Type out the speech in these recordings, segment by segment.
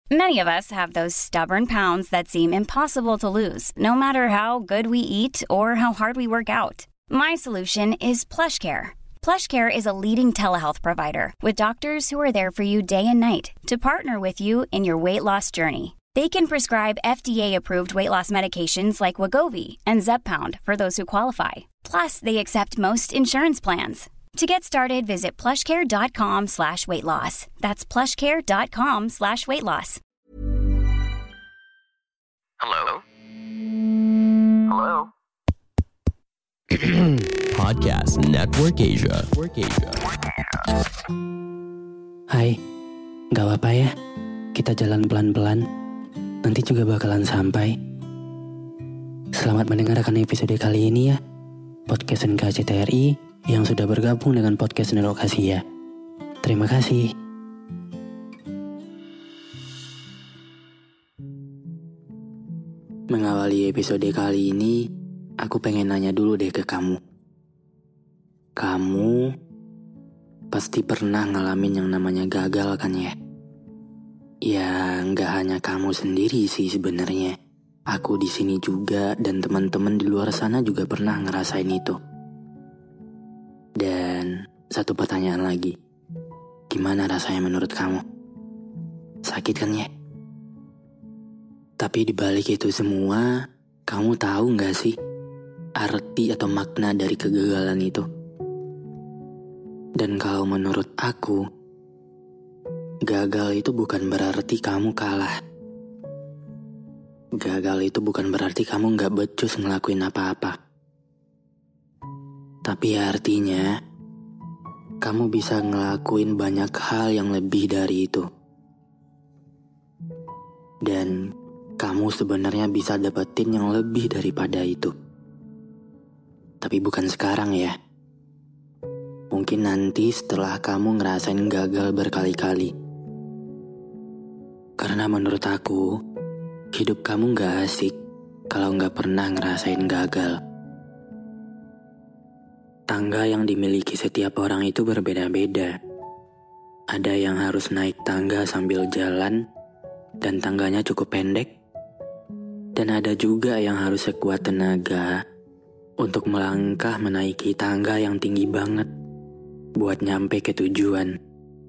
Many of us have those stubborn pounds that seem impossible to lose, no matter how good we eat or how hard we work out. My solution is PlushCare. PlushCare is a leading telehealth provider with doctors who are there for you day and night to partner with you in your weight loss journey. They can prescribe FDA-approved weight loss medications like Wegovy and Zepbound for those who qualify. Plus, they accept most insurance plans. To get started, visit plushcare.com/weightloss. That's plushcare.com/weightloss. Hello? Hello? Podcast Network Asia. Hai, gak apa-apa ya, kita jalan pelan-pelan, nanti juga bakalan sampai. Selamat mendengarkan episode kali ini ya, Podcast NKCTRI yang sudah bergabung dengan Podcast Network Asia. Terima kasih. Mengawali episode kali ini, aku pengen nanya dulu deh ke kamu. Kamu pasti pernah ngalamin yang namanya gagal kan ya? Ya, nggak hanya kamu sendiri sih sebenarnya. Aku di sini juga dan teman-teman di luar sana juga pernah ngerasain itu. Dan satu pertanyaan lagi. Gimana rasanya menurut kamu? Sakit kan ya? Tapi dibalik itu semua, kamu tahu nggak sih arti atau makna dari kegagalan itu? Dan kalau menurut aku, gagal itu bukan berarti kamu kalah. Gagal itu bukan berarti kamu nggak becus ngelakuin apa-apa. Tapi artinya, kamu bisa ngelakuin banyak hal yang lebih dari itu. Dan kamu sebenarnya bisa dapetin yang lebih daripada itu. Tapi bukan sekarang ya. Mungkin nanti setelah kamu ngerasain gagal berkali-kali. Karena menurut aku, hidup kamu gak asik kalau gak pernah ngerasain gagal. Tangga yang dimiliki setiap orang itu berbeda-beda. Ada yang harus naik tangga sambil jalan, dan tangganya cukup pendek. Dan ada juga yang harus sekuat tenaga untuk melangkah menaiki tangga yang tinggi banget buat nyampe ke tujuan.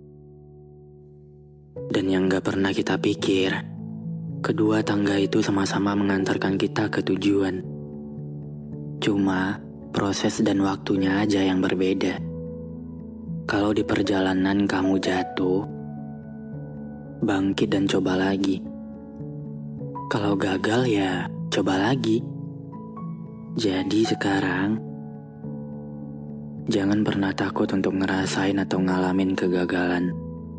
Dan yang gak pernah kita pikir, kedua tangga itu sama-sama mengantarkan kita ke tujuan. Cuma proses dan waktunya aja yang berbeda. Kalau di perjalanan kamu jatuh, bangkit dan coba lagi. Kalau gagal ya coba lagi. Jadi sekarang, jangan pernah takut untuk ngerasain atau ngalamin kegagalan.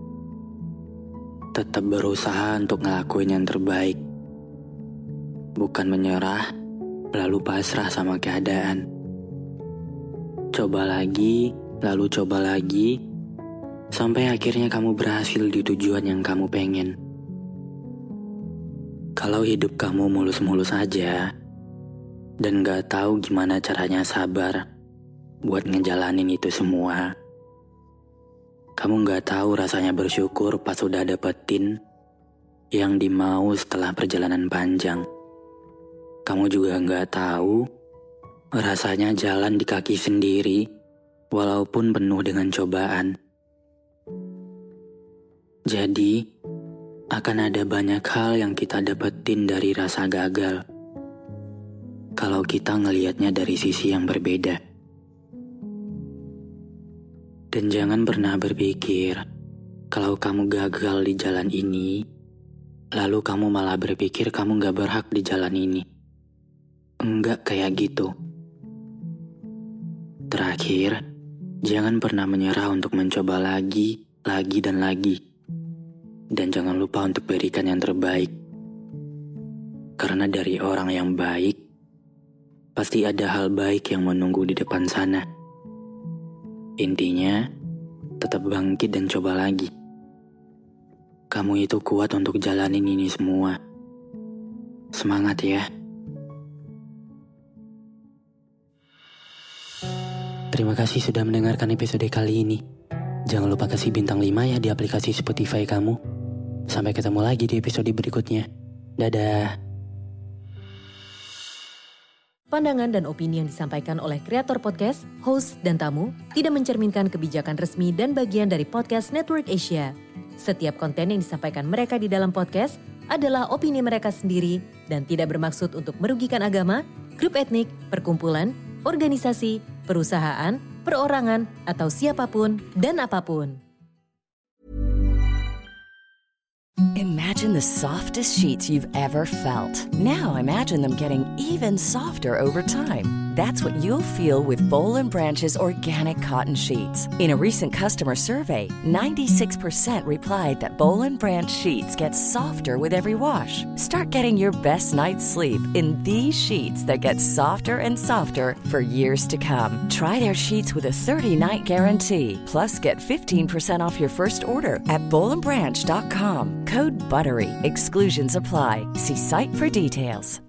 Tetap berusaha untuk ngelakuin yang terbaik. Bukan menyerah, lalu pasrah sama keadaan. Coba lagi, lalu coba lagi, sampai akhirnya kamu berhasil di tujuan yang kamu pengen. Kalau hidup kamu mulus-mulus aja, dan gak tahu gimana caranya sabar buat ngejalanin itu semua, kamu gak tahu rasanya bersyukur pas udah dapetin yang dimau setelah perjalanan panjang. Kamu juga gak tahu rasanya jalan di kaki sendiri walaupun penuh dengan cobaan. Jadi, akan ada banyak hal yang kita dapetin dari rasa gagal kalau kita ngelihatnya dari sisi yang berbeda. Dan jangan pernah berpikir kalau kamu gagal di jalan ini, lalu kamu malah berpikir kamu gak berhak di jalan ini. Enggak kayak gitu. Terakhir, jangan pernah menyerah untuk mencoba lagi dan lagi. Dan jangan lupa untuk berikan yang terbaik. Karena dari orang yang baik, pasti ada hal baik yang menunggu di depan sana. Intinya, tetap bangkit dan coba lagi. Kamu itu kuat untuk jalanin ini semua. Semangat ya. Terima kasih sudah mendengarkan episode kali ini. Jangan lupa kasih bintang 5 ya di aplikasi Spotify kamu. Sampai ketemu lagi di episode berikutnya. Dadah. Pandangan dan opini yang disampaikan oleh kreator podcast, host, dan tamu tidak mencerminkan kebijakan resmi dan bagian dari podcast Network Asia. Setiap konten yang disampaikan mereka di dalam podcast adalah opini mereka sendiri dan tidak bermaksud untuk merugikan agama, grup etnik, perkumpulan, organisasi, perusahaan, perorangan, atau siapapun dan apapun. Imagine the softest sheets you've ever felt. Now imagine them getting even softer over time. That's what you'll feel with Boll & Branch's organic cotton sheets. In a recent customer survey, 96% replied that Boll & Branch sheets get softer with every wash. Start getting your best night's sleep in these sheets that get softer and softer for years to come. Try their sheets with a 30-night guarantee. Plus, get 15% off your first order at bollandbranch.com. Code BUTTERY. Exclusions apply. See site for details.